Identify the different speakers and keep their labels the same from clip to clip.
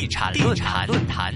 Speaker 1: 產論壇。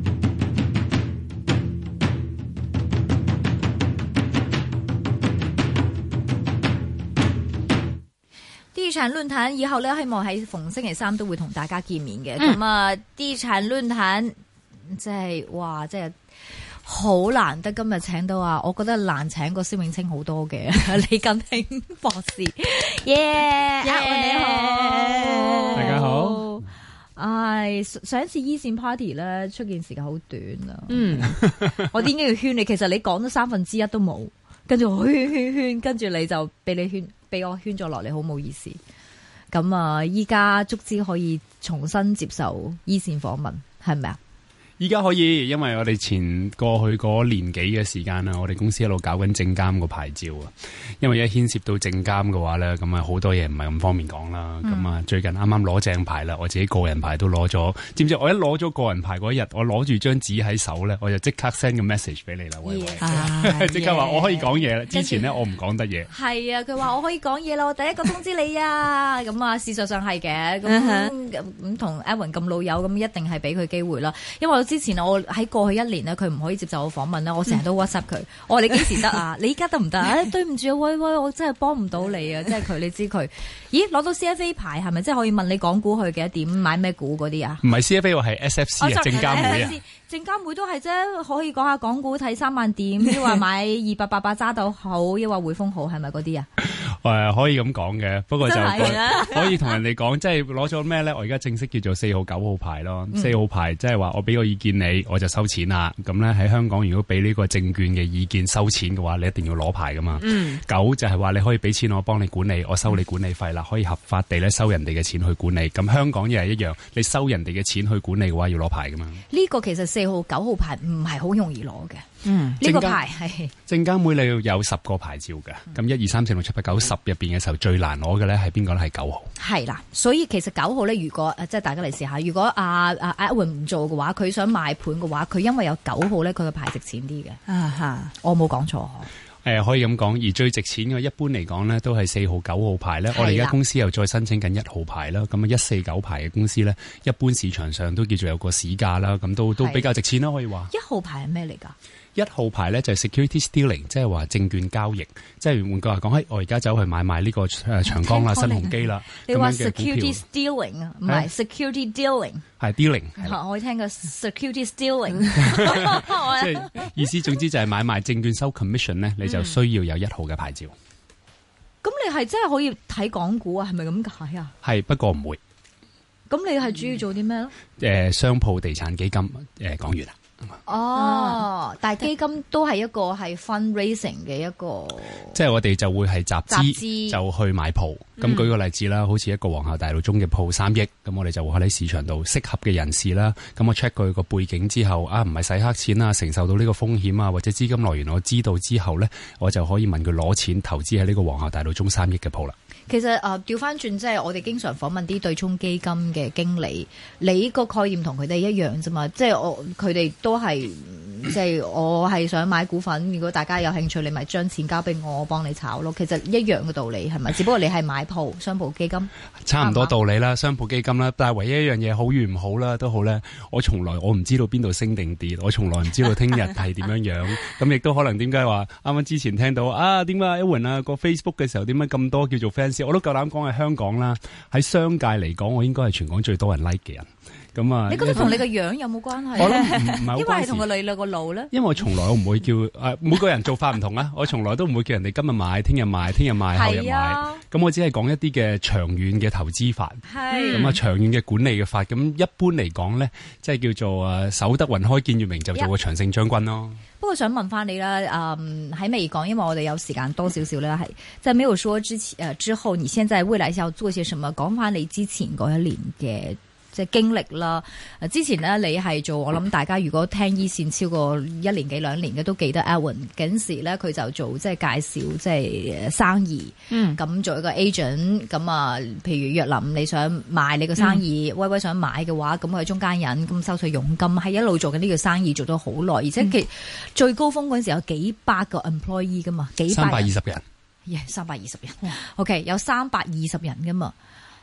Speaker 2: 地產論壇以後咧，希望喺逢星期三都會同大家見面嘅。咁啊，地產論壇即係哇，即係好難得今日請到啊！我覺得難請過蕭永清好多嘅李根興博士。耶！你好，
Speaker 3: 大家好。
Speaker 2: 唉，上一次依線 party 咧，出現時間好短啊。我點解要圈你？其實你講咗1/3都冇，跟住我圈，跟住你就俾我圈咗落嚟，好冇意思。咁啊，依家足之可以重新接受依線訪問，係咪啊？
Speaker 3: 依家可以，因為我哋前過去嗰年幾嘅時間啦，我哋公司一路搞緊證監個牌照啊。因為一牽涉到證監嘅話咧，咁啊好多嘢唔係咁方便講啦。咁啊最近啱啱攞正牌啦，我自己個人牌都攞咗。知唔知我一攞咗個人牌嗰日，我攞住張紙喺手咧，我就即刻 send 個 message 俾你啦，喂，即刻話我可以講嘢啦。之前咧我唔講得嘢。係
Speaker 2: 啊，佢話我可以講嘢啦，我第一個通知你啊。咁啊，事實上係嘅。咁同 Edwin 咁老友，咁一定係俾佢機會啦。因為之前我喺過去1年咧，佢唔可以接受我訪問咧，我成日都 WhatsApp 佢。我話你幾時得啊？你依家得唔得？對唔住啊，喂，我真係幫唔到你啊！即係佢，你知佢，咦？攞到 CFA 牌係咪即係可以問你講股去幾多點買咩股嗰啲啊？唔係 CFA， 我係 SFC 啊，證監會啊。證監會都係啫，可以講下港股睇3萬點，抑或買288揸到好，抑或匯豐好，係咪嗰啲啊？
Speaker 3: 可以咁講嘅，不過就可以同人哋講，即係攞咗咩咧？我而家正式叫做4號9號牌咯。4號牌即係話我俾個意見你，我就收錢啦。咁咧喺香港，如果俾呢個證券嘅意見收錢嘅話，你一定要攞牌噶嘛。9就係話你可以俾錢我幫你管理，我收你管理費啦，可以合法地咧收人哋嘅錢去管理。咁香港亦係一樣，你收人哋嘅錢去管理嘅話，要攞牌噶嘛。呢個其實4號9號牌唔係好容易攞嘅。呢個牌係證監會你要有10個牌照嘅。咁1、2、3、4、6、7、8、9、10入邊嘅時候最難攞嘅咧係邊個咧？係9號。係啦，所以其實9號咧，如果即係大家嚟試下，如果阿 Edwin 唔做嘅話，佢想買盤嘅話，佢因為有9號咧，佢嘅牌值錢啲嘅。我冇講錯。可以咁講，而最值錢嘅一般嚟講咧，都係4號9號牌咧。我哋而家公司又再申請緊1號牌啦。咁啊149牌嘅公司咧，一般市場上都叫做有個市價啦。咁都比較值錢啦，可以話。1號牌係咩嚟㗎？1號牌咧就係 security stealing， 即係話證券交易，即係換句話講，我而家走去買賣呢個長江啦、新鴻基啦。你話 security stealing 啊，唔係 security dealing， 係 dealing。我聽過 security stealing， 即係意思總之就係買賣證券收 commission 咧，你就需要有1號嘅牌照。咁你係真係可以睇港股啊？係咪咁解啊？係，不過唔會。咁你係主要做啲咩咧？商鋪地產基金講完啦。但係基金都係一個係 fundraising 嘅一個，即係我哋就會係集資就去買鋪。咁舉個例子啦，好似一個皇后大道中嘅鋪3億，咁我哋就會喺市場度適合嘅人士啦。咁我 check 佢個背景之後，唔係洗黑錢啊，承受到呢個風險啊，或者資金來源我知道之後咧，我就可以問佢攞錢投資喺呢個皇后大道中3億嘅鋪啦。其實調翻轉，即係我哋經常訪問啲對沖基金嘅經理，你個概念同佢哋一樣啫嘛。即係佢哋都係，即係我係想買股份，如果大家有興趣，你咪將錢交俾我幫你炒咯。其實一樣嘅道理係咪？只不過你係買鋪商鋪基金，差唔多道理啦，商鋪基金啦。但係唯一一樣嘢好與唔好啦，都好咧。我唔知道邊度升定跌，我從來唔知道聽日係點樣樣。咁亦都可能點解話啱啱之前聽到點解 Edwin 個 Facebook 嘅時候點解咁多叫做 fans？我都夠膽講係香港啦，喺商界嚟講，我應該係全港最多人 like 嘅人。咁啊，你覺得同你個樣有冇關係？我諗唔係好關係，因為係同個女個路咧。因為我從來我唔會叫每個人做法唔同啊，我從來都唔會叫人哋今日買、聽日買、聽日買、後日買。咁我只係講一啲嘅長遠嘅投資法，咁啊長遠嘅管理嘅法。咁一般嚟講咧，即係叫做守得雲開見月明，就做個長勝將軍咯。不過想問翻你啦，喺未講，因為我哋有時間多少少咧，係即係沒有說之後，你現在未來要做些什麼？講翻你之前嗰一年嘅即係經歷啦。之前咧你係做，我諗大家如果聽依線超過1年幾2年嘅都記得 Edwin 嗰時咧，佢就做即係介紹即係生意，咁做一個 agent。咁啊，譬如若林你想賣你個生意，威威想買嘅話，咁佢係中間人，咁收取佣金，係一路做緊呢個生意做咗好耐，而且其最高峰嗰陣時有幾百個 employee 噶嘛，320人，320人，OK 有320人噶嘛。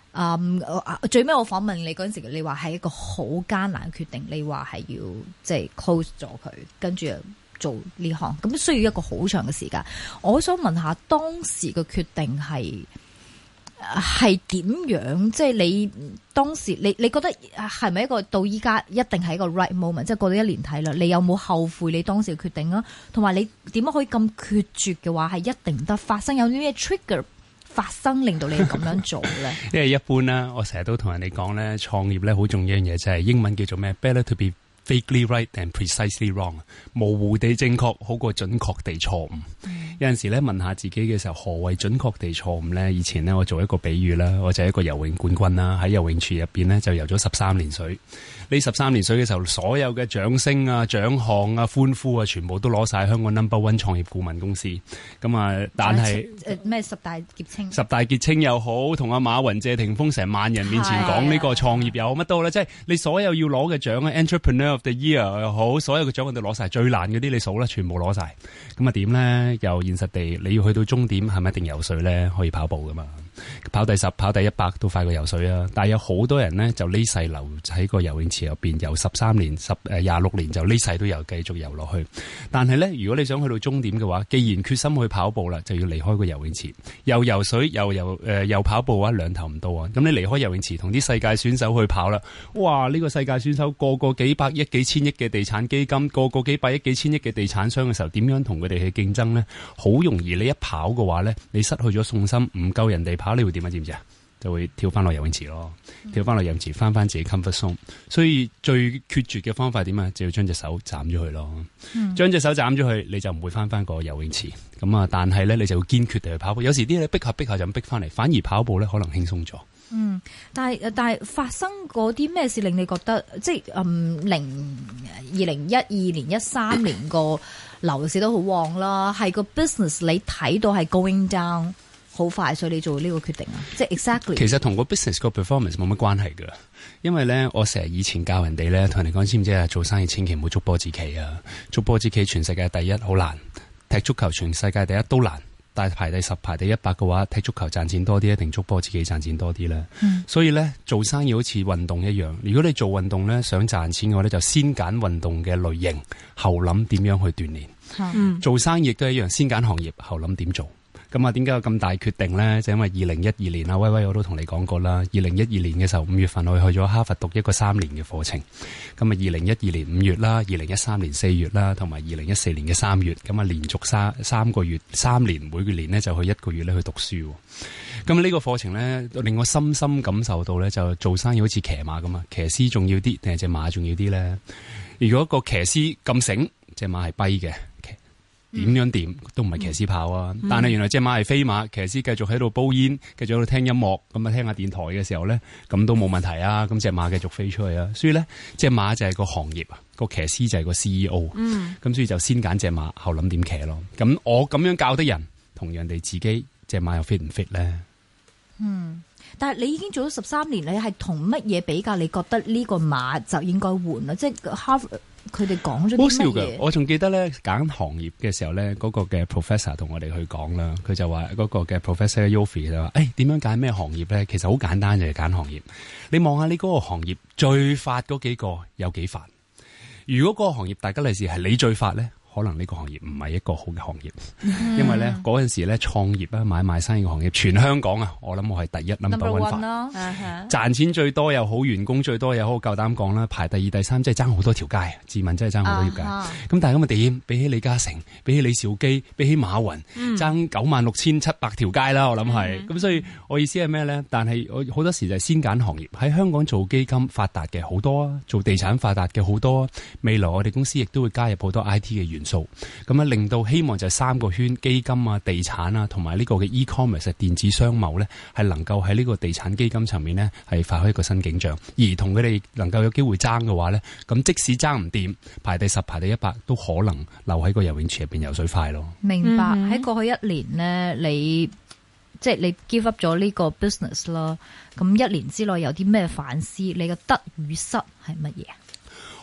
Speaker 2: 最尾我訪問你嗰陣時，你話係一個好艱難嘅決定，你話係要即係 close 咗佢，跟住做呢行，咁需要一個好長嘅時間。我想問下當時嘅決定係點樣？即係你當時你覺得係咪一個到依家一定係一個 right moment？即係過咗1年睇啦，你有冇後悔你當時嘅決定啊？同埋你點樣可以咁決絕嘅話係一定唔得發生？有啲咩 trigger 發生令到你咁樣做咧？
Speaker 3: 因為一般啦，我成日都同人哋講咧，創業咧好重要一樣嘢就係英文叫做咩 ？Better to be vaguely right than precisely wrong， 模糊地正確好過準確地錯誤。有陣時咧問下自己嘅時候，何謂準確地錯誤咧？以前咧我做一個比喻啦，我就係一個游泳冠軍啦，喺游泳池入邊咧就游咗13年水。呢13年水嘅時候，所有嘅掌聲啊、獎項啊、歡呼啊，全部都攞晒香港 No.1 創業顧問公司。咁啊，但係
Speaker 2: 咩10大傑青？
Speaker 3: 十大傑青又好，同阿馬雲、謝霆鋒成萬人面前講呢個創業又好乜都好啦，即係你所有要攞嘅獎啊 ，Entrepreneur of the Year 又好，所有嘅獎我哋攞晒，最難嗰啲你數啦，全部攞晒。咁啊點咧？又現實地，你要去到終點係咪一定游水咧？可以跑步噶嘛？跑第10、跑第100都快過游水啊！但係有好多人呢，就呢世留喺個游泳池入邊游13年、26年，就呢世都有繼續游落去。但係呢，如果你想去到終點嘅話，既然決心去跑步啦，就要離開個游泳池，又游水又跑步嘅話，兩頭唔到啊！咁你離開游泳池，同啲世界選手去跑啦，哇！呢個世界選手個個幾百億、幾千億嘅地產基金，個個幾百億、幾千億嘅地產商嘅時候，點樣同佢哋去競爭呢？好容易你一跑嘅話呢，你失去咗信心，唔夠人哋跑，你會點啊？知唔知啊？就會跳翻落游泳池咯，跳翻落游泳池，翻自己 comfort zone。所以最決絕嘅方法係點啊？就要將隻手斬咗佢咯。將隻手斬咗佢，你就唔會翻個游泳池。咁啊，但係咧，你就要堅決地去跑步。有時啲嘢逼下就逼翻嚟，反而跑步咧可能輕鬆咗。
Speaker 2: 但係發生過啲咩事令你覺得即係2012年、13年個樓市都好旺啦，係個 business 你睇到係 going down。好快，所以你做呢個決定啊？即係 exactly。其實
Speaker 3: 同個 business 個 performance 冇乜關係㗎，因為咧，我成日以前教人哋咧，同人哋講知唔知啊？做生意千祈唔好捉波子棋啊！捉波子棋全世界第一好難，踢足球全世界第一都難，但係排第10、排第100嘅話，踢足球賺錢多啲，一定捉波子棋賺錢多啲咧。所以咧，做生意好似運動一樣，如果你做運動咧想賺錢嘅話咧，就先揀運動嘅類型，後諗點樣去鍛煉。做生意亦都一樣，先揀行業，後諗點做。咁啊，點解有咁大決定呢？就因為2012年啊，威威我都同你講過啦。2012年嘅時候5月份，我去咗哈佛讀一個3年嘅課程。咁啊，2012年5月啦，2013年4月啦，同埋2014年嘅3月，咁啊，連續三個月3年，每個年呢就去1個月咧去讀書。咁呢個課程呢，令我深深感受到呢，就做生意好似騎馬咁啊，騎師重要啲定係隻馬重要啲呢？如果個騎師咁醒，隻馬係跛嘅。點樣掂都唔係騎師跑啊！但係原來隻馬係飛馬，騎師繼續喺度煲煙，繼續喺度聽音樂，咁啊聽下電台嘅時候咧，咁都冇問題啊！咁隻馬繼續飛出去啊！所以咧，隻馬就係個行業啊，個騎師就係個 CEO。咁所以就先揀隻馬，後諗點騎咯。咁我咁樣教得人，同人哋自己隻馬又 fit 唔 fit 咧？
Speaker 2: 但係你已經做咗13年，你係同乜嘢比較？你覺得呢個馬就應該換啦？即係佢哋講咗啲乜嘢？好笑㗎！
Speaker 3: 我仲記得咧，揀行業嘅時候咧，嗰個嘅 professor 同我哋去講啦，佢就話嗰個嘅 professor Yofi 就話：點樣揀咩行業咧？其實好簡單，就係揀行業。你望下你嗰個行業最發嗰幾個有幾發？如果嗰個行業大吉利是係你最發咧？可能呢個行業唔係一個好嘅行業，因為咧嗰陣時咧創業啊買賣生意嘅行業，全香港啊，我諗我係第一 number one 咯，賺錢最多又好，員工最多又好，夠膽講啦，排第2、第3，即係爭好多條街，自問真係爭好多條街。咁但係咁嘅點？比起李嘉誠，比起李兆基，比起馬雲，爭96,700條街啦，我諗係。咁所以我意思係咩咧？但係我好多時就係先揀行業。喺香港做基金發達嘅好多啊，做地產發達嘅好多啊。未來我哋公司亦都會加入好多 IT 嘅元素。咁啊，令到希望就係3個圈，基金啊、地產啊，同埋呢個嘅 e-commerce 電子商貿咧，係能夠喺呢個地產基金層面咧，係發揮一個新景象。而同佢哋能夠有機會爭嘅話咧，咁即使爭唔掂，排第10、排第100，都可能留喺個游泳池入邊游水快咯。
Speaker 2: 明白。喺過去1年呢，你 give up 咗呢個 business 啦。咁1年之內有啲咩反思？你嘅得與失係乜嘢？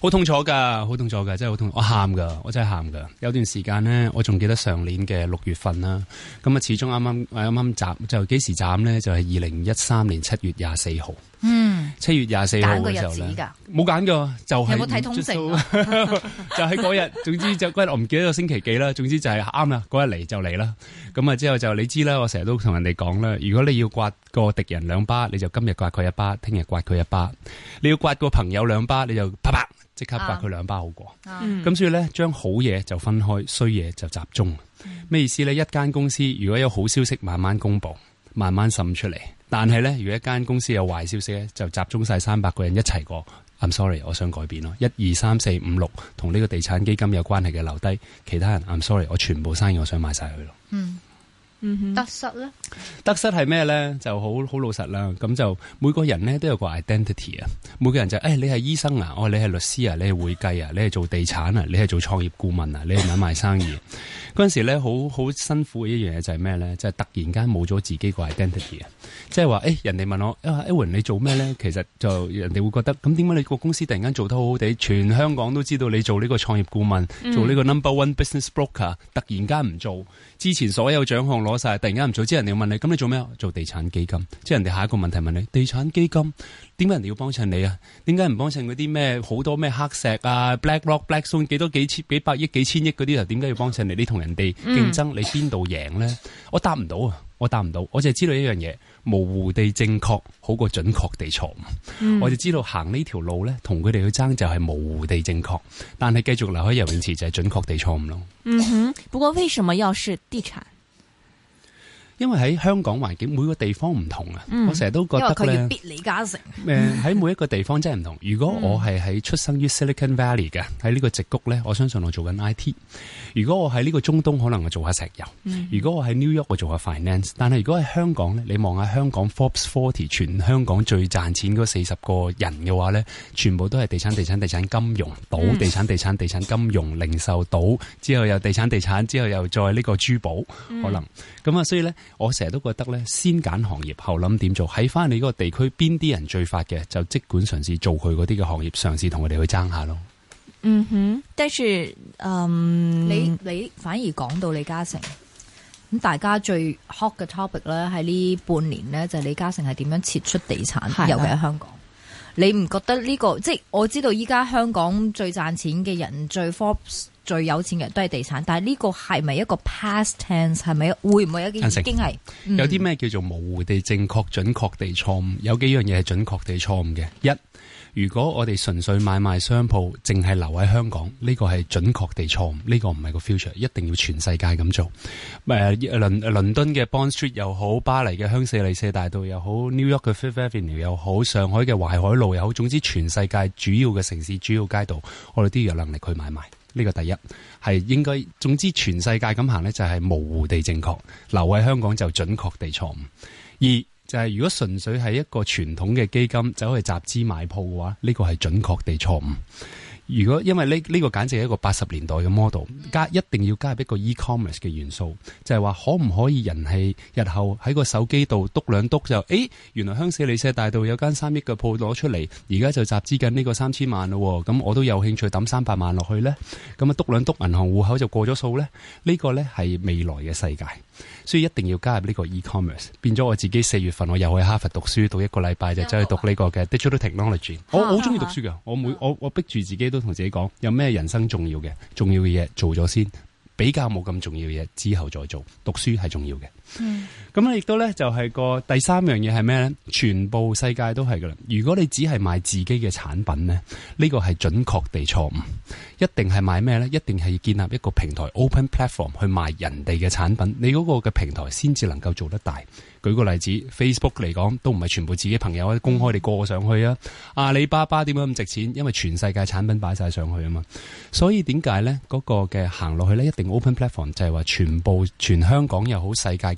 Speaker 3: 好痛楚㗎，好痛楚㗎，真係好痛，我喊㗎，我真係喊㗎。有段時間呢，我仲記得上年嘅6月份啦，咁啊始終啱啱斬就幾時斬呢？就係2013年7月24號。7月24號嘅時候咧，冇揀㗎，就係
Speaker 2: 有冇睇通勝啊？
Speaker 3: 就喺嗰日，總之就嗰日我唔記得個星期幾啦，總之就係啱啦，嗰日嚟就嚟啦。咁啊之後就你知啦，我成日都同人哋講啦，如果你要刮個敵人2巴，你就今日刮佢1巴，聽日刮佢1巴；你要刮個朋友2巴，你就啪啪即刻刮佢2巴好過。咁所以咧，將好嘢就分開，衰嘢就集中。咩意思咧？一間公司如果有好消息，慢慢公佈，慢慢滲出嚟。但係咧，如果一間公司有壞消息咧，就集中晒300個人一齊過。I'm sorry， 我想改變咯。1、2、3、4、5、6同呢個地產基金有關係嘅留低，其他人 I'm sorry， 我全部生意我想買晒佢咯。
Speaker 2: 得失咧？
Speaker 3: 得失係咩咧？就好老實啦。咁就每個人咧都有個 identity 啊。每個人就你係醫生啊，你係律師啊，你係會計啊，你係做地產啊，你係做創業顧問啊，你係買賣生意。嗰陣時咧，好辛苦嘅一樣嘢就係咩咧？就係突然間冇咗自己個 identity 啊！即係話人哋問我Edwin 你做咩咧？其實就人哋會覺得咁點解你個公司突然間做得好好地，全香港都知道你做呢個創業顧問，做呢個 number one business broker，突然間唔做，之前所有獎項攞晒，突然間唔做，之後人哋問你咁你做咩？做地產基金。即係人哋下一個問題問你，地產基金點解人哋要幫襯你啊？點解唔幫襯嗰啲咩好多咩黑石啊 BlackRock、Blackstone 幾百億、幾千億嗰啲啊？點解要幫襯你？你同人哋競爭，你邊度贏咧？我答唔到啊！我淨係知道一樣嘢，模糊地正確好過準確地錯誤。我就知道行呢條路咧，同佢哋去爭就係模糊地正確，但係繼續留喺游泳池就係準確地錯誤咯。
Speaker 1: 不過為什麼要是地產？
Speaker 3: 因為喺香港環境每個地方唔同啊，我成日都覺得咧，因為
Speaker 2: 佢要逼李嘉誠。
Speaker 3: 喺每一個地方真係唔同。如果我係喺出生於 Silicon Valley 嘅，喺呢個矽谷咧，我相信我做緊 IT。如果我喺呢個中東，可能我做下石油。如果我喺 New York，我做下 finance。但係如果喺香港咧，你望下香港 Forbes 40全香港最賺錢嗰40個人嘅話咧，全部都係地產、金融、賭、地產、金融、零售、賭，之後又地產，之後又再呢個珠寶，可能咁啊，所以咧。我成日都覺得咧，先揀行業後諗點做，喺翻你嗰個地區邊啲人最發嘅，就即管嘗試做佢嗰啲嘅行業，嘗試同佢哋去爭下咯。
Speaker 1: 但是
Speaker 2: 你反而講到李嘉誠咁，大家最 hot 嘅 topic 咧，喺呢半年咧，就係李嘉誠係點樣撤出地產，尤其喺香港。你唔覺得呢個即係我知道依家香港最賺錢嘅人最 Forbes 最有錢嘅人都係地產，但係呢個係咪一個 past tense？ 係咪會唔會有啲已經係
Speaker 3: 有啲咩叫做模糊地正確、準確地錯誤？有幾樣嘢係準確地錯誤嘅。一，如果我哋純粹買賣商鋪，淨係留喺香港，呢個係準確地錯誤。呢個唔係個 future， 一定要全世界咁做。倫敦嘅 Bond Street 又好，巴黎嘅香榭麗舍大道又好， New York 嘅 Fifth Avenue 又好，上海嘅淮海路又好，總之全世界主要嘅城市、主要街道，我哋都要有能力去買賣。呢個第一係應該，總之全世界咁行呢，就係模糊地正確，留喺香港就準確地錯誤。二就係如果純粹係一個傳統嘅基金走去集資買鋪嘅話，呢個係準確地錯誤。如果因為呢個簡直係一個80年代嘅 model， 一定要加入一個 e-commerce 嘅元素，就係話可唔可以人係日後喺個手機度篤兩篤就原來香榭麗舍大道有間3億嘅鋪攞出嚟，而家就集資緊呢個3000萬咯，咁我都有興趣抌300萬落去呢，咁啊篤兩篤銀行戶口就過咗數呢。呢個呢係未來嘅世界，所以一定要加入呢個 e-commerce。變咗我自己4月份我又去哈佛讀書，讀1個禮拜就走去讀呢個嘅 digital technology。我好中意讀書㗎，我逼住自己都同自己講，有咩人生重要嘅嘢做咗先，比較冇咁重要嘅嘢之後再做。讀書係重要嘅。咁咧亦都咧就係個第三樣嘢係咩咧？全部世界都係噶啦。如果你只係賣自己嘅產品咧，呢個係準確地錯誤。一定係賣咩咧？一定係要建立一個平台 open platform 去賣人哋嘅產品，你嗰個嘅平台先至能夠做得大。舉個例子 ，Facebook 嚟講都唔係全部自己朋友公開地過上去啊。阿里巴巴點解咁值錢？因為全世界產品擺晒上去啊嘛。所以點解咧？嗰個嘅行落去咧，一定 open platform 就係話全香港又好，世界嘅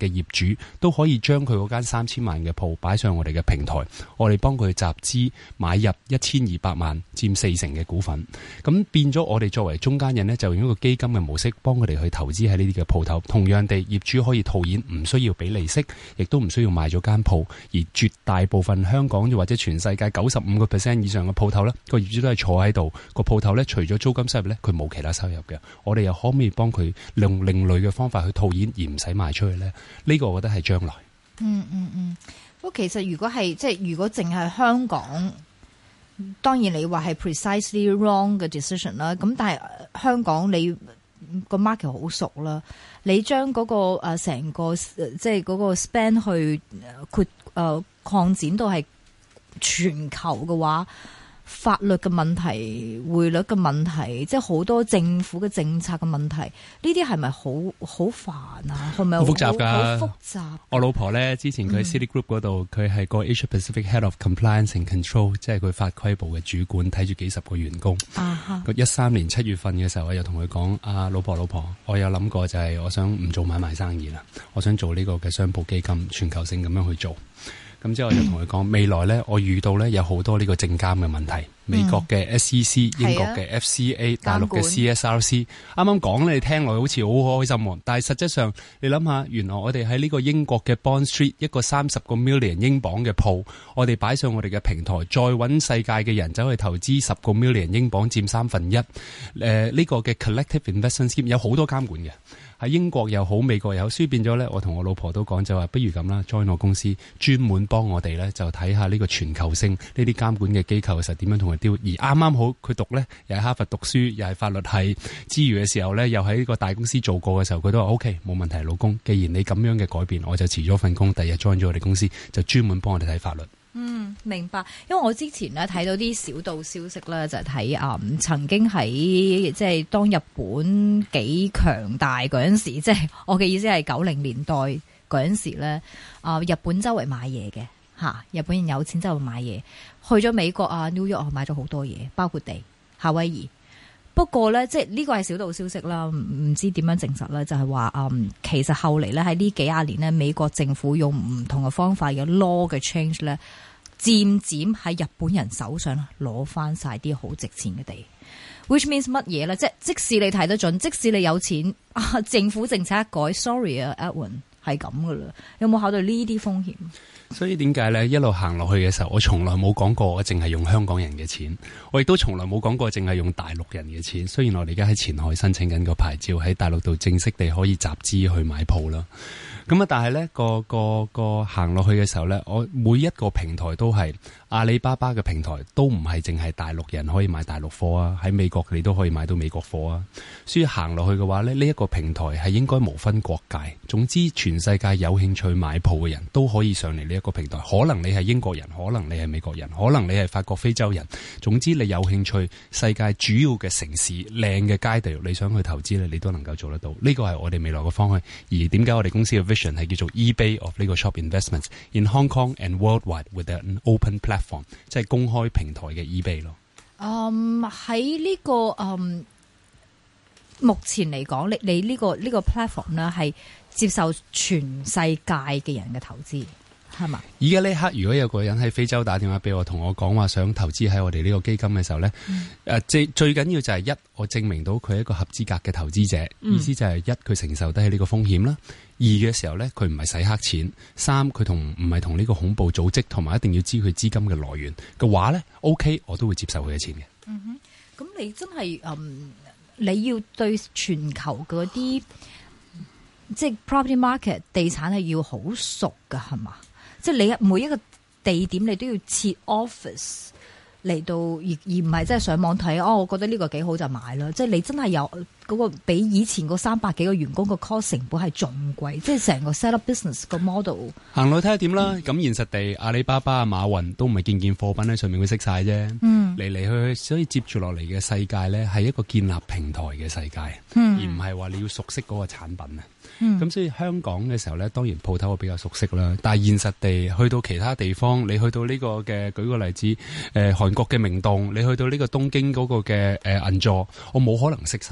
Speaker 3: 嘅業主都可以將佢嗰間3000萬嘅鋪擺上我哋嘅平台，我哋幫佢集資買入1200萬，佔40%嘅股份。咁變咗我哋作為中間人呢，就用一個基金嘅模式幫佢哋去投資喺呢啲嘅鋪頭。同樣地，業主可以套現，唔需要俾利息，亦都唔需要賣咗間鋪。而絕大部分香港或者全世界95% 以上嘅鋪頭呢，個業主都係坐喺度，個鋪頭呢，除咗租金收入呢，佢冇其他收入嘅。我哋又可唔可以幫佢用另類嘅方法去套現而唔使賣出去呢？呢個我覺得係將來。
Speaker 2: 不過其實如果係即係如果淨係香港，當然你話係 precisely wrong 嘅 decision 啦。咁但係香港你個 market 好熟啦，你將嗰個成個即係嗰個 span 去擴展到係全球嘅話，法律嘅問題、匯率嘅問題，即係好多政府嘅政策嘅問題，呢啲係咪好煩啊？係咪好複雜㗎？好複雜。
Speaker 3: 我老婆咧之前佢喺 Citigroup 嗰度，佢係個 Asia Pacific Head of Compliance and Control， 即係佢法規部嘅主管，睇住幾十個員工。佢13年7月份嘅時候，我又同佢講：老婆，我有諗過就係我想唔做買賣生意啦，我想做呢個嘅商鋪基金，全球性咁樣去做。咁之後我就同佢講，未來呢，我遇到呢有好多呢個證監嘅問題，美國嘅 SEC、英國嘅 FCA、大陸嘅 CSRC， 啱啱講你聽落好似好開心，但係實質上你諗下，原來我哋喺呢個英國嘅 Bond Street 一個30個 million 英鎊嘅鋪，我哋擺上我哋嘅平台，再揾世界嘅人走去投資10個 million 英鎊，佔1/3。呢個嘅 Collective Investment Scheme 有好多監管嘅。喺英國又好，美國又好，所以變咗咧，我同我老婆都講就話，不如咁啦 ，join 我公司，專門幫我哋咧就睇下呢個全球性呢啲監管嘅機構嘅時候點樣同佢丟。而啱啱好佢讀咧又喺哈佛讀書，又係法律系之餘嘅時候咧，又喺呢個大公司做過嘅時候，佢都話 OK 冇問題，老公，既然你咁樣嘅改變，我就辭咗份工，第日 join 咗我哋公司，就專門幫我哋睇法律。
Speaker 2: 明白。因為我之前咧睇到啲小道消息咧，就係睇曾經喺即係當日本幾強大嗰陣時，即係我嘅意思係90年代嗰陣時咧，日本周圍買嘢嘅嚇，日本人有錢周圍買嘢，去咗美國New York 買咗好多嘢，包括地夏威夷。不過咧，即係呢個係小道消息啦，唔知點樣證實咧，就係話其實後嚟咧喺呢幾廿年咧，美國政府用唔同嘅方法嘅 law 嘅 change 咧，漸漸喺日本人手上攞翻晒啲好值錢嘅地 ，which means 乜嘢咧？即使你睇得準，即使你有錢，政府政策一改 ，sorry 啊 Edwin 係咁噶啦，有冇考慮呢啲風險？
Speaker 3: 所以點解咧一路行落去嘅時候，我從來冇講過我淨係用香港人嘅錢，我亦都從來冇講過淨係用大陸人嘅錢。雖然我哋而家喺前海申請緊個牌照，喺大陸度正式地可以集資去買鋪啦。咁但係咧個行落去嘅時候咧，我每一個平台都係阿里巴巴嘅平台，都唔係淨係大陸人可以買大陸貨啊，喺美國你都可以買到美國貨啊。所以行落去嘅話咧，呢一個平台係應該無分國界，總之全世界有興趣買鋪嘅人都可以上嚟呢一個平台。可能你係英國人，可能你係美國人，可能你係法國非洲人，總之你有興趣世界主要嘅城市靚嘅街道，你想去投資咧，你都能夠做得到。呢個係我哋未來嘅方向。而點解我哋公司嘅 vision 係叫做 eBay of 呢個 shop investments in Hong Kong and worldwide with an open platform， 即係公開平台嘅 eBay 咯。
Speaker 2: 喺呢個目前嚟講，你呢個 platform 咧係接受全世界嘅人嘅投資。係嘛？而
Speaker 3: 家呢刻，如果有個人喺非洲打電話俾我，同我講話想投資喺我哋呢個基金嘅時候呢，最緊要就係一，我證明到佢係一個合資格嘅投資者，意思就係一，佢承受得起呢個風險啦；二嘅時候呢，佢唔係洗黑錢；三，佢唔係同呢個恐怖組織，同埋一定要知佢資金嘅來源嘅話呢 OK， 我都會接受佢嘅錢嘅。
Speaker 2: 咁你真係你要對全球嗰啲即係 property market 地產係要好熟噶，係嘛？即係你每一個地點你都要設 office 嚟到，而唔係即係上網睇我覺得呢個幾好就買啦。即係你真係有嗰個比以前嗰300幾個員工個 cost 成本係仲貴，即係成個 set up business 個 model。行
Speaker 3: 路睇下點啦。咁現實地，阿里巴巴、馬雲都唔係件貨品喺上面會識晒啫。嚟嚟去去，所以接住落嚟嘅世界咧，係一個建立平台嘅世界，而唔係話你要熟悉嗰個產品啊。咁所以香港嘅時候咧，當然鋪頭我比較熟悉啦。但係現實地去到其他地方，你去到呢個嘅，舉個例子，韓國嘅明洞，你去到呢個東京嗰個嘅銀座，我冇可能識晒㗎。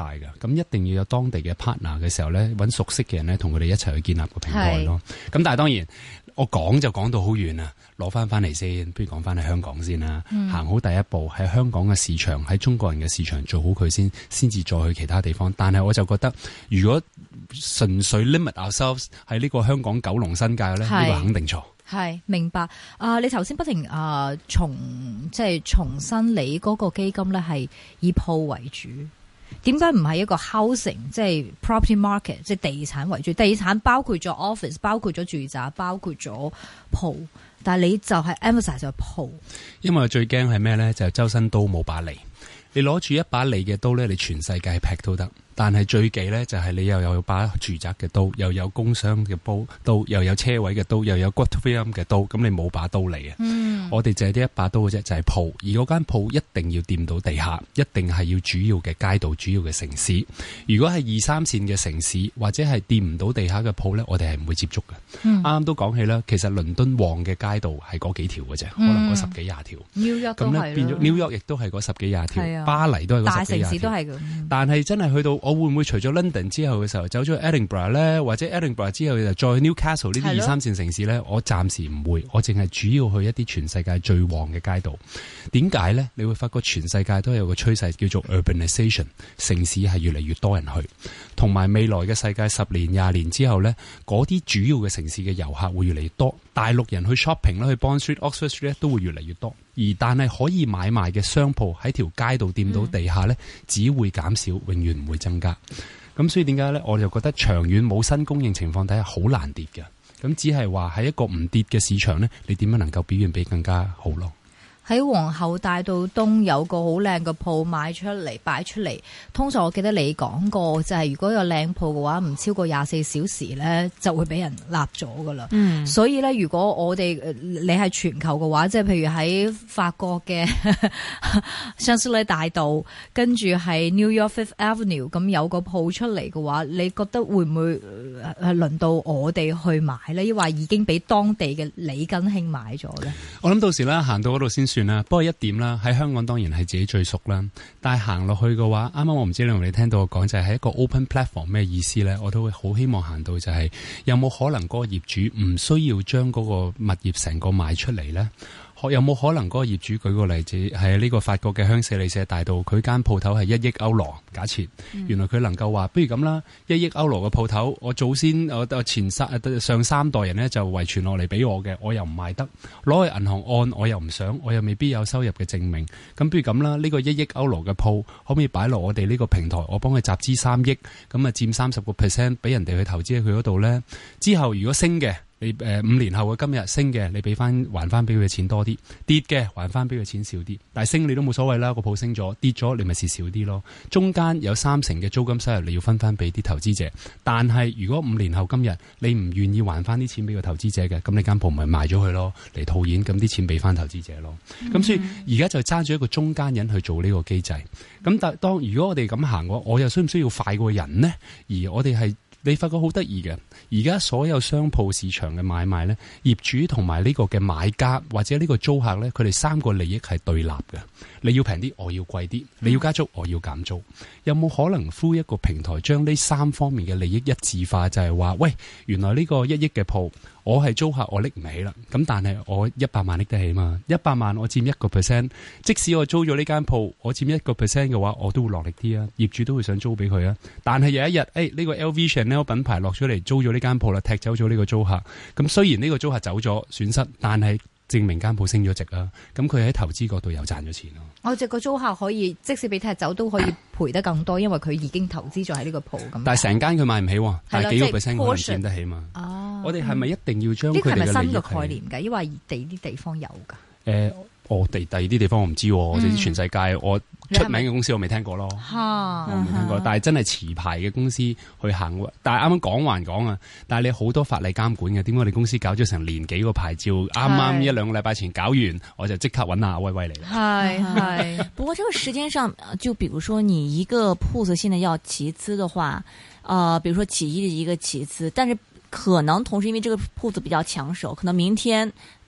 Speaker 3: 咁一定要有當地嘅 partner 嘅時候咧，揾熟悉嘅人咧，同佢哋一齊去建立個平台咯。咁但係當然，我講就講到好遠啦，攞翻嚟先，不如講翻喺香港先啦。行好第一步喺香港嘅市場，喺中國人嘅市場做好佢先至再去其他地方。但係我就覺得，如果純粹 limit ourselves 喺呢個香港九龍新界咧，呢個肯定錯。
Speaker 2: 係明白你頭先不停重新你嗰個基金咧係以鋪為主，點解唔係一個 housing 即係 property market 即係地產為主？地產包括咗 office， 包括咗住宅，包括咗鋪，但係你就係 emphasize 咗鋪。因為
Speaker 3: 最驚係咩咧？就係周身刀冇把利，你攞住一把利嘅刀咧，你全世界劈都得。但係最忌咧，就係你又有把住宅嘅刀，又有工商嘅刀，又有車位嘅刀，又有骨灰龕嘅刀，咁你冇把刀嚟啊！我哋就係呢一把刀嘅啫，就係鋪。而嗰間鋪一定要掂到地下，一定係要主要嘅街道、主要嘅城市。如果係2、3線嘅城市，或者係掂唔到地下嘅鋪咧，我哋係唔會接觸嘅。啱啱都講起啦，其實倫敦旺嘅街道係嗰幾條嘅啫，可能嗰10幾20條。
Speaker 2: New York 都係，
Speaker 3: 變咗 New York 亦都係嗰10幾20條，巴黎都係嗰10幾20條。大城市都係咁。但係真係去到，我會唔會除咗 London 之後嘅時候走咗去 Edinburgh 咧，或者 Edinburgh 之後就再去 Newcastle 呢啲2、3線城市咧？我暫時唔會，我淨係主要去一啲全世界最旺嘅街道。點解咧？你會發覺全世界都有個趨勢叫做 urbanization， 城市係越嚟越多人去，同埋未來嘅世界10年、20年之後咧，嗰啲主要嘅城市嘅遊客會越嚟越多，大陸人去 shopping 啦，去 Bond Street、Oxford Street 都會越嚟越多。但係可以買賣嘅商鋪喺條街度掂到地下咧，只會減少，永遠唔會增加。咁所以點解咧？我就覺得長遠冇新供應情況底下好難跌嘅。咁只係話喺一個唔跌嘅市場咧，你點樣能夠表現比更加好咯？喺皇后大道東有個好靚嘅鋪賣出嚟擺出嚟，通常我記得你講過，就係如果有靚鋪嘅話，唔超過24小時咧，就會俾人立咗噶啦。所以咧，如果我哋你係全球嘅話，即係譬如喺法國嘅香榭麗大道，跟住係 New York Fifth Avenue 咁有個鋪出嚟嘅話，你覺得會唔會係輪到我哋去買咧？抑或已經俾當地嘅李根興買咗咧？我諗到時啦，行到嗰度先算啦。不過一點啦，喺香港當然係自己最熟啦。但係行落去嘅話，啱啱我唔知你同你聽到我講就係一個 open platform 咩意思咧？我都會好希望行到就係有冇可能嗰個業主唔需要將嗰個物業成個賣出嚟咧？有冇可能嗰個業主舉個例子係呢個法國嘅香榭麗舍大道，佢間鋪頭係1億歐羅，假設原來佢能夠話不如咁啦，1億歐羅嘅鋪頭，我祖先我上3代人呢就遺傳落嚟俾我嘅，我又唔賣得，攞去銀行按我又唔想，我又未必有收入嘅證明，咁不如咁啦，呢個1億歐羅嘅鋪可唔可以擺落我哋呢個平台，我幫佢集資3億，咁啊佔30%俾人哋去投資喺佢嗰度呢？之後如果升嘅，你5年後嘅今日升嘅，你還翻俾佢嘅錢多啲；跌嘅還翻俾佢錢少啲。但係升你都冇所謂啦，個鋪升咗；跌咗你咪蝕少啲咯。中間有30%嘅租金收入你要分翻俾啲投資者。但係如果5年後今日你唔願意還翻啲錢俾個投資者嘅，咁你間鋪咪賣咗佢咯，嚟套現，咁啲錢俾翻投資者咯。咁所以而家就揸住一個中間人去做呢個機制。咁但當如果我哋咁行嘅話，我又需唔需要快過人呢？而我哋係你發覺好得意嘅，而家所有商鋪市場嘅買賣呢，業主同埋呢個嘅買家或者呢個租客呢，佢哋3個利益係對立嘅。你要平啲，我要貴啲；你要加租，我要減租。有冇可能呼一個平台將呢3方面嘅利益一致化？就係話，喂，原來呢個1億嘅鋪，我係租客，我拎唔起啦。咁但係我100萬拎得起嘛？100萬我佔1%，即使我租咗呢間鋪，我佔1% 嘅話，我都會落力啲啊。業主都會想租俾佢啊。但係有一日，呢個 LV Chanel 品牌落咗嚟租咗呢間鋪啦，踢走咗呢個租客。咁雖然呢個租客走咗損失，但係證明間鋪升咗值啦。咁佢喺投資嗰度又賺咗錢咯。我隻個租客可以即使俾踢走都可以賠得更多，因為佢已經投資咗喺呢個鋪咁。但係成間佢買唔起，但係幾個%可能佔得起嘛。我哋係咪一定要將佢哋嘅利益？呢個係咪新嘅概念㗎？因為地啲地方有㗎。第二啲地方我唔知，我哋全世界我出名嘅公司我未聽過咯。我未聽過，但係真係持牌嘅公司去行。但係啱啱講還講啊，但係你好多法例監管嘅，點解我哋公司搞咗成年幾個牌照，啱啱1-2個禮拜前搞完，我就即刻揾阿威威嚟啦。
Speaker 1: 係。不過這個時間上，就比如說你一個鋪子現在要集資的話，比如說起義的一個集資，但是可能同時因為這個鋪子比較搶手，可能明天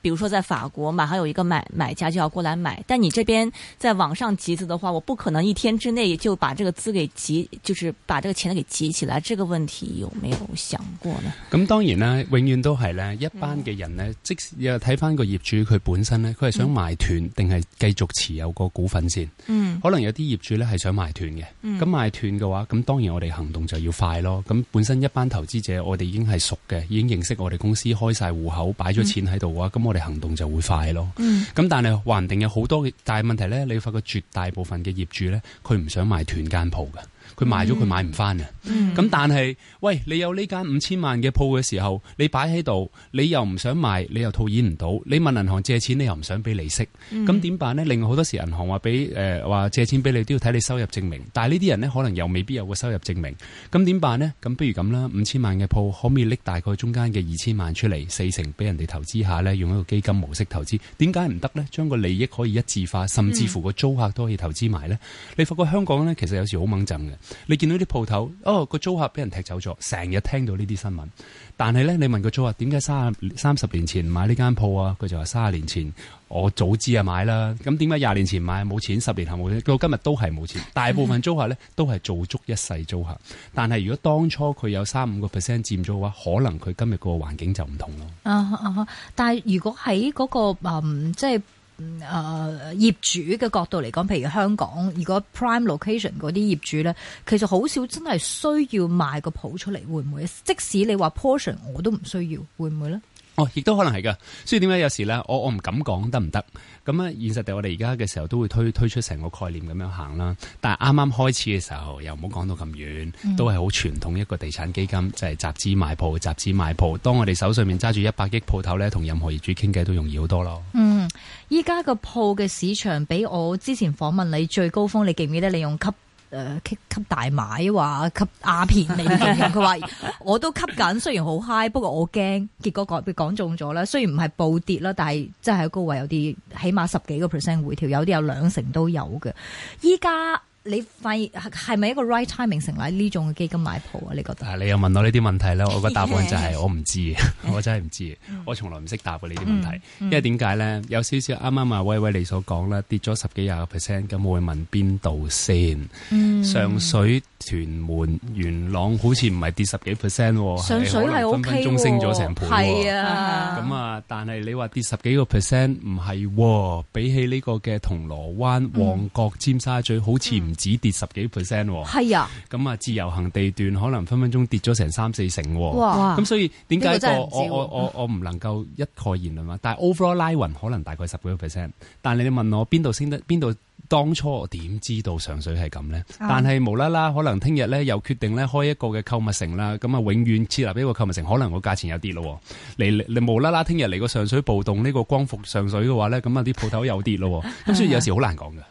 Speaker 1: 比如說在法國馬上有一個買家就要過來買，但你這邊在網上集資的話，我不可能一天之內就把這個資給集，就是把這個錢給集起來。這個問題有沒有想過呢？
Speaker 3: 咁當然啦，永遠都係咧，一班嘅人呢，即使又睇翻個業主佢本身呢，佢係想賣斷定係繼續持有個股份先。可能有啲業主呢係想賣斷嘅。咁賣斷嘅話，咁當然我哋行動就要快咯。咁本身一班投資者，我哋已經係熟嘅，已經認識我哋公司，開晒戶口，擺咗錢喺度嘅話，咁我哋行動就會快咯。咁但係還定有好多，但係問題呢，你發覺絕大部分嘅業主呢，佢唔想賣斷間鋪嘅。佢賣咗佢買唔翻啊！咁但係，喂，你有呢間5000萬嘅鋪嘅時候，你擺喺度，你又唔想賣，你又套現唔到，你問銀行借錢，你又唔想俾利息，咁點辦呢？另外好多時銀行話俾話借錢俾你都要睇你收入證明，但係呢啲人呢，可能又未必有個收入證明，咁點辦呢？咁不如咁啦，5000萬嘅鋪可唔可以拎大概中間嘅2000萬出嚟，4成俾人哋投資下呢？用一個基金模式投資，點解唔得呢？將個利益可以一致化，甚至乎個租客都可以投資埋呢？你發覺香港呢，其實有時好猛陣嘅。你見到啲鋪頭，個租客俾人踢走咗，成日聽到呢啲新聞。但係咧，你問個租客點解30年前買呢間鋪啊？佢就話30年前我早知啊買啦。咁點解20年前買冇錢，10年後冇錢，到今日都係冇錢。大部分租客咧都係做足一世租客。但係如果當初佢有3-5%佔咗嘅話，可能佢今日個環境就唔同咯。
Speaker 2: 但係如果喺嗰個即係業主嘅角度嚟講，譬如香港，如果 prime location 嗰啲業主咧，其實好少真係需要賣個鋪出嚟，會唔會？即使你話 portion 我都唔需要，會唔會咧？
Speaker 3: 亦都可能係噶，所以點解有時咧，我唔敢講得唔得？咁啊，現實地我哋而家嘅時候都會推出成個概念咁樣行啦。但係啱啱開始嘅時候，又唔好講到咁遠，都係好傳統一個地產基金，就係集資買鋪，集資買鋪。當我哋手上面揸住100億鋪頭咧，同任何業主傾偈都容易好多咯。
Speaker 2: 依家個鋪嘅市場比我之前訪問你最高峰，你記唔記得你用吸大麻話吸鴉片嚟形容？佢話我都吸緊，雖然好 high， 不過我驚。結果被講中咗啦。雖然唔係暴跌啦，但係真係喺高位有啲起碼10幾個%回調，有啲有2成都有嘅。依家你發現係咪一個 right timing 成立呢種嘅基金買鋪啊？你覺得？
Speaker 3: 你又問我呢啲問題咧，我個答案就係我唔知，我真係唔知，我從來唔識答過呢啲問題。因為點解咧？有少少啱啱啊威威你所講啦，跌咗10幾20%，咁我會問邊度先？上水、屯門、元朗好似唔係跌10幾%喎，
Speaker 2: 上水係 OK 喎，
Speaker 3: 分分鐘升咗成倍喎。
Speaker 2: 係啊，
Speaker 3: 咁啊，但係你話跌10幾個%唔係喎，比起呢個嘅銅鑼灣、旺角、尖沙咀，好似唔止跌10幾%喎。
Speaker 2: 係啊，
Speaker 3: 咁啊，自由行地段可能分分鐘跌咗成3-4成喎。
Speaker 2: 哇！
Speaker 3: 咁所以點解我唔能夠一概言論嘛？但係 overall 拉勻可能大概10幾個%。但係你問我邊度升得邊度？當初我點知道上水係咁呢？但係無啦啦，可能聽日咧又決定咧開一個嘅購物城啦，咁啊永遠設立一個購物城，可能個價錢又跌咯。你無啦啦聽日嚟個上水暴動呢個光復上水嘅話咧，咁啊啲鋪頭又跌咯。咁所以有時好難講㗎。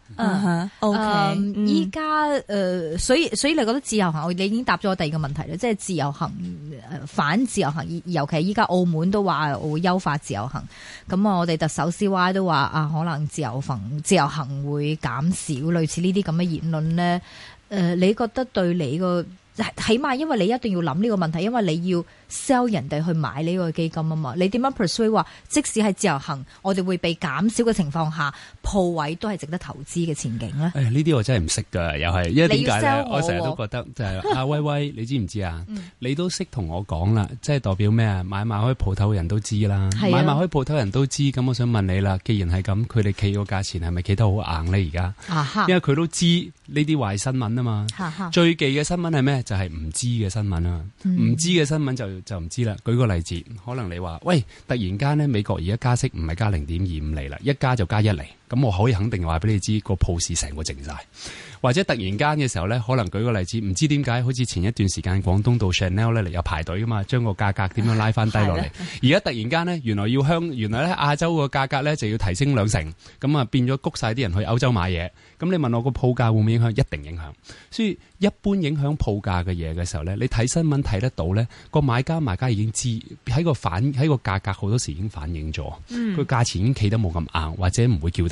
Speaker 2: OK，依家所以你覺得自由行，你已經答咗我第二個問題啦，即係自由行反自由行，尤其係依家澳門都話會優化自由行，咁我哋特首 CY 都話可能自由行會減少，類似呢啲咁嘅言論咧。你覺得對你個起碼，因為你一定要諗呢個問題，因為你要 sell 人哋去買呢個基金啊嘛。你點樣 persuade 話，即使係自由行，我哋會被減少嘅情況下，鋪位都係值得投資嘅前景咧？
Speaker 3: 呢啲我真係唔識㗎，又係，因為點解咧？我成日都覺得就係阿威威，你知唔知啊？你都識同我講啦，即係代表咩啊？買賣開鋪頭人都知啦，買賣開鋪頭人都知。咁我想問你啦，既然係咁，佢哋企個價錢係咪企得好硬咧？而家，因為佢都知呢啲壞新聞啊嘛。最忌嘅新聞係咩？就係唔知嘅新聞啊！唔知嘅新聞就唔知啦。舉個例子，可能你話喂，突然間咧美國而家加息唔係加0.25厘啦，一加就加1厘，咁我可以肯定話俾你知個鋪市成個靜晒。或者突然間嘅時候咧，可能舉個例子，唔知點解好似前一段時間廣東道 Chanel 咧嚟有排隊噶嘛，將個價格點樣拉翻低落嚟。而家突然間呢，原來咧亞洲個價格咧就要提升2成，咁啊變咗谷晒啲人去歐洲買嘢。咁你問我個鋪價會唔會影響？一定影響。所以一般影響鋪價嘅嘢嘅時候咧，你睇新聞睇得到咧，個買家賣家已經知喺個價格好多時已經反映咗，個價錢已經企得冇咁硬，或者唔會叫得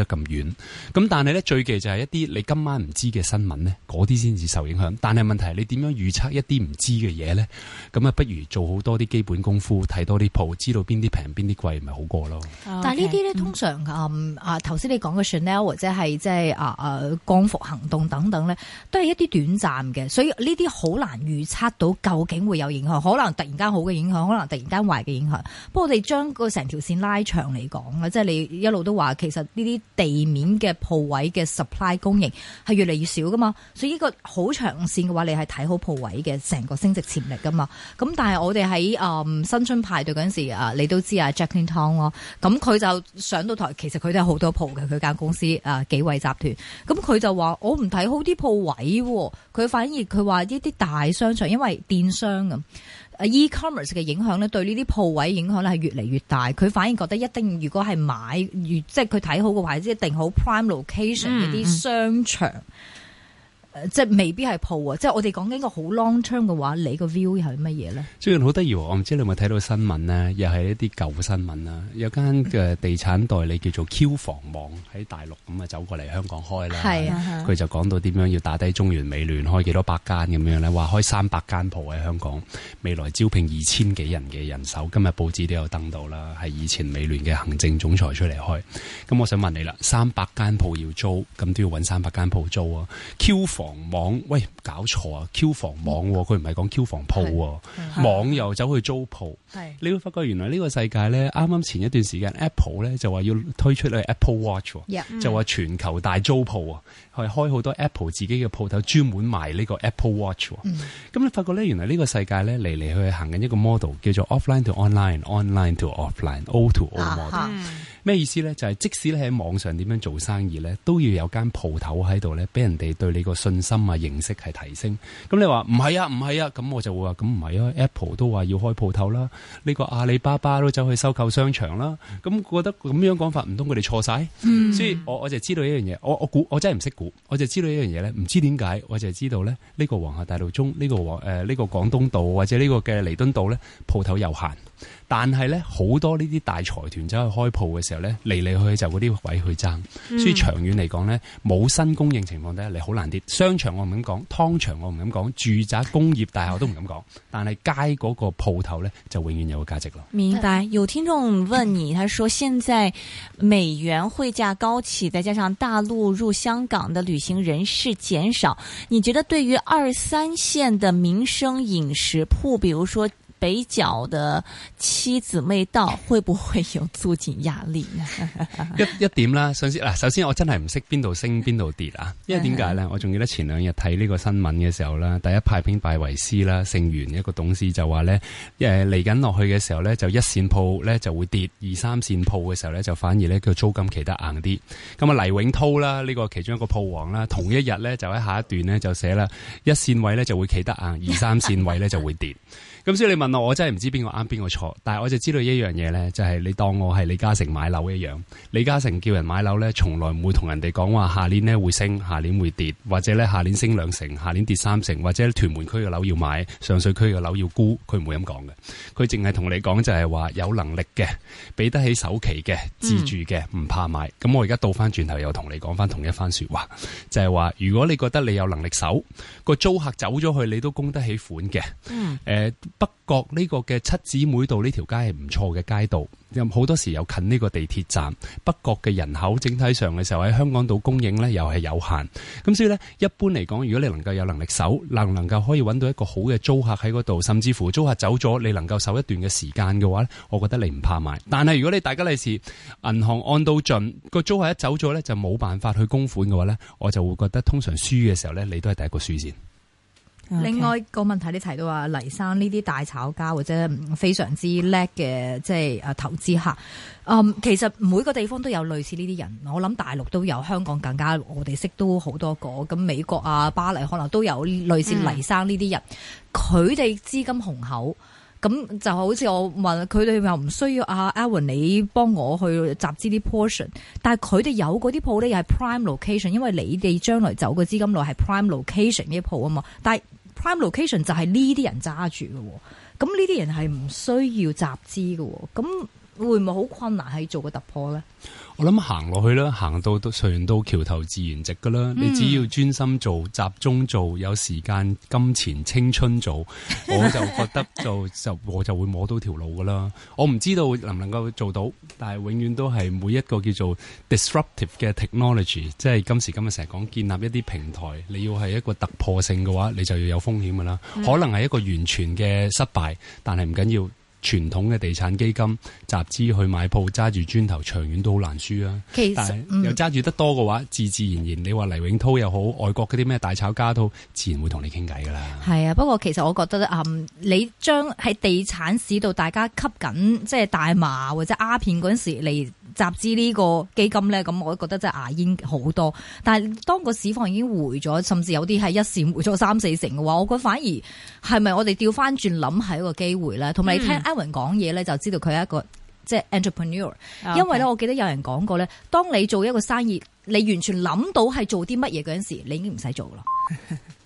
Speaker 3: 得咁遠。咁但係咧，最忌就係一啲你今晚唔知嘅新聞咧，嗰啲先至受影響。但係問題係你點樣預測一啲唔知嘅嘢咧？咁啊，不如做好多啲基本功夫，睇多啲鋪，知道邊啲平邊啲貴，咪好過咯。
Speaker 2: 但係呢啲咧，通常頭先你講嘅 Chanel 或者係即係光復行動等等咧，都係一啲短暫嘅，所以呢啲好難預測到究竟會有影響，可能突然間好嘅影響，可能突然間壞嘅影響。不過我哋將個成條線拉長嚟講咧，即係你一路都話，其實呢啲地面嘅鋪位嘅 supply 供應係越嚟越少噶嘛，所以呢個好長線嘅話，你係睇好鋪位嘅成個升值潛力噶嘛。咁但係我哋喺新春派對嗰陣時你都知啊 Jacqueline Tong 咯，咁佢就上到台，其實佢都有好多鋪嘅，佢間公司紀惠集團，咁佢就話我唔睇好啲鋪位，佢反而佢話呢啲大商場，因為電商咁。e-commerce 嘅影響咧，對呢啲鋪位影響咧係越嚟越大。佢反而覺得一定，如果係買，即係佢睇好嘅話，一定好 prime location 嗰啲商場。即係未必係鋪啊！即係我哋講緊個好 long term 嘅話，你個 view 係乜嘢咧？
Speaker 3: 最近好得意，我唔知你有冇睇到新聞呢？又係一啲舊新聞啦。有間嘅地產代理叫做 Q 房網喺大陸咁啊，走過嚟香港開啦。係啊，佢就講到點樣要打低中原美聯開幾多百間咁樣咧，話開300間鋪喺香港，未來招聘2000幾人嘅人手。今日報紙都有登到啦，係以前美聯嘅行政總裁出嚟開。咁我想問你啦，300間鋪要租，咁都要揾300間鋪租啊 ？Q 房網喂，搞錯啊 ！Q 房網佢唔係講 Q 房鋪，網又走去租鋪。你會發覺原來呢個世界咧，啱啱前一段時間 Apple 咧就話要推出去 Apple Watch，就話全球大租鋪啊，係開好多 Apple 自己嘅鋪頭，專門賣呢個 Apple Watch。咁你發覺咧，原來呢個世界咧嚟嚟去行緊一個 model，叫做 offline to online，online to offline，O to O model。咩意思咧？就係即使你喺網上點樣做生意咧，都要有間鋪頭喺度咧，俾人哋對你個信心啊、認識係提升。咁你話唔係啊，唔係啊，咁我就會話咁唔係啊。Apple 都話要開鋪頭啦，呢個阿里巴巴都走去收購商場啦。咁覺得咁樣講法，唔通佢哋錯晒？所以我就知道一樣嘢，我估我真係唔識估，我就知道一樣嘢咧，唔知點解，我就知道咧呢個皇后大道中呢個呢個廣東道或者呢個嘅彌敦道咧鋪頭有限。但係咧，好多呢啲大財團走去開鋪嘅時候咧，嚟嚟去去就嗰啲位去爭，所以長遠嚟講咧，冇新供應情況底下，你好難跌。商場我唔敢講，湯場我唔敢講，住宅工業大廈都唔敢講，但係街嗰個鋪頭咧就永遠有個價值咯。
Speaker 1: 明白。有聽眾問你，他說現在美元匯價高企，再加上大陸入香港的旅行人士減少，你覺得對於2、3線的民生飲食鋪，比如說北角的七姊妹道會不會有租金壓力呢？
Speaker 3: 一點啦，首先我真係唔識邊度升邊度跌啊！因為點解咧？我仲記得前2日睇呢個新聞嘅時候啦，第一派兵拜維斯啦，盛源一個董事就話咧，嚟緊落去嘅時候咧，就1線鋪咧就會跌，2、3線鋪嘅時候咧就反而咧個租金企得硬啲。咁啊黎永濤啦，呢個其中一個鋪王啦，同一日咧就喺下一段咧就寫啦，1線位咧就會企得硬，2、3線位咧就會跌。咁所以你問我真係唔知邊個啱邊個錯，但係我就知道一樣嘢咧，就係你當我係李嘉誠買樓一樣。李嘉誠叫人買樓咧，從來唔會同人哋講話下年咧會升，下年會跌，或者咧下年升2成，下年跌3成，或者屯門區嘅樓要買，上水區嘅樓要沽，佢唔會咁講嘅。佢淨係同你講就係話有能力嘅，俾得起首期嘅，自住嘅，唔怕買。咁我而家倒翻轉頭又同你講翻同一番說話，就係話如果你覺得你有能力守，個租客走咗去，你都供得起款嘅。北角呢個嘅七姊妹道呢條街係唔錯嘅街道，好多時又近呢個地鐵站。北角嘅人口整體上嘅時候喺香港島供應呢又係有限，咁所以呢，一般嚟講，如果你能夠有能力守，能夠可以揾到一個好嘅租客喺嗰度，甚至乎租客走咗，你能夠守一段嘅時間嘅話呢，我覺得你唔怕買。但係如果你大家利是銀行按到盡，個租客一走咗呢，就冇辦法去供款嘅話呢，我就會覺得通常輸嘅時候呢，你都係第一個輸先。
Speaker 2: 另外個問題你提到話黎生呢啲大炒家或者非常之叻嘅即係投資客，其實每個地方都有類似呢啲人，我諗大陸都有，香港更加我哋識都好多個，咁美國啊巴黎可能都有類似黎生呢啲人，佢哋資金雄厚。咁就好似我問佢哋又唔需要Alan 你幫我去集資啲 portion， 但係佢哋有嗰啲鋪咧又係 prime location， 因為你哋將來走嘅資金內係 prime location 呢啲鋪啊嘛，但係 prime location 就係呢啲人揸住嘅，咁呢啲人係唔需要集資嘅，咁會唔會好困難係做個突破咧？
Speaker 3: 我諗行落去啦，行到隨緣到橋頭自然直噶啦。你只要專心做、集中做、有時間、金錢、青春做，我就覺得我就會摸到條路噶啦。我唔知道能唔能夠做到，但係永遠都係每一個叫做 disruptive 嘅 technology， 即係今時今日成日講建立一啲平台，你要係一個突破性嘅話，你就要有風險噶啦。可能係一個完全嘅失敗，但係唔緊要。傳統嘅地產基金集資去買鋪，揸住磚頭，長遠都好難輸啊！
Speaker 2: 其實
Speaker 3: 但係又揸住得多嘅話，自自然然，你話黎永濤又好，外國嗰啲咩大炒家都自然會同你傾偈噶啦。
Speaker 2: 係啊，不過其實我覺得你將喺地產市度大家吸緊即係大麻或者鴉片嗰陣時嚟集資呢個基金咧，咁我覺得真係牙煙好多。但係當個市況已經回咗，甚至有啲係一線回咗3-4成嘅話，我覺得反而係咪我哋調翻轉諗係一個機會咧？同埋你聽 Edwin 講嘢咧，就知道佢係一個即係 entrepreneur。因為咧，我記得有人講過咧，當你做一個生意，你完全諗到係做啲乜嘢嗰陣時，你已經唔使做啦。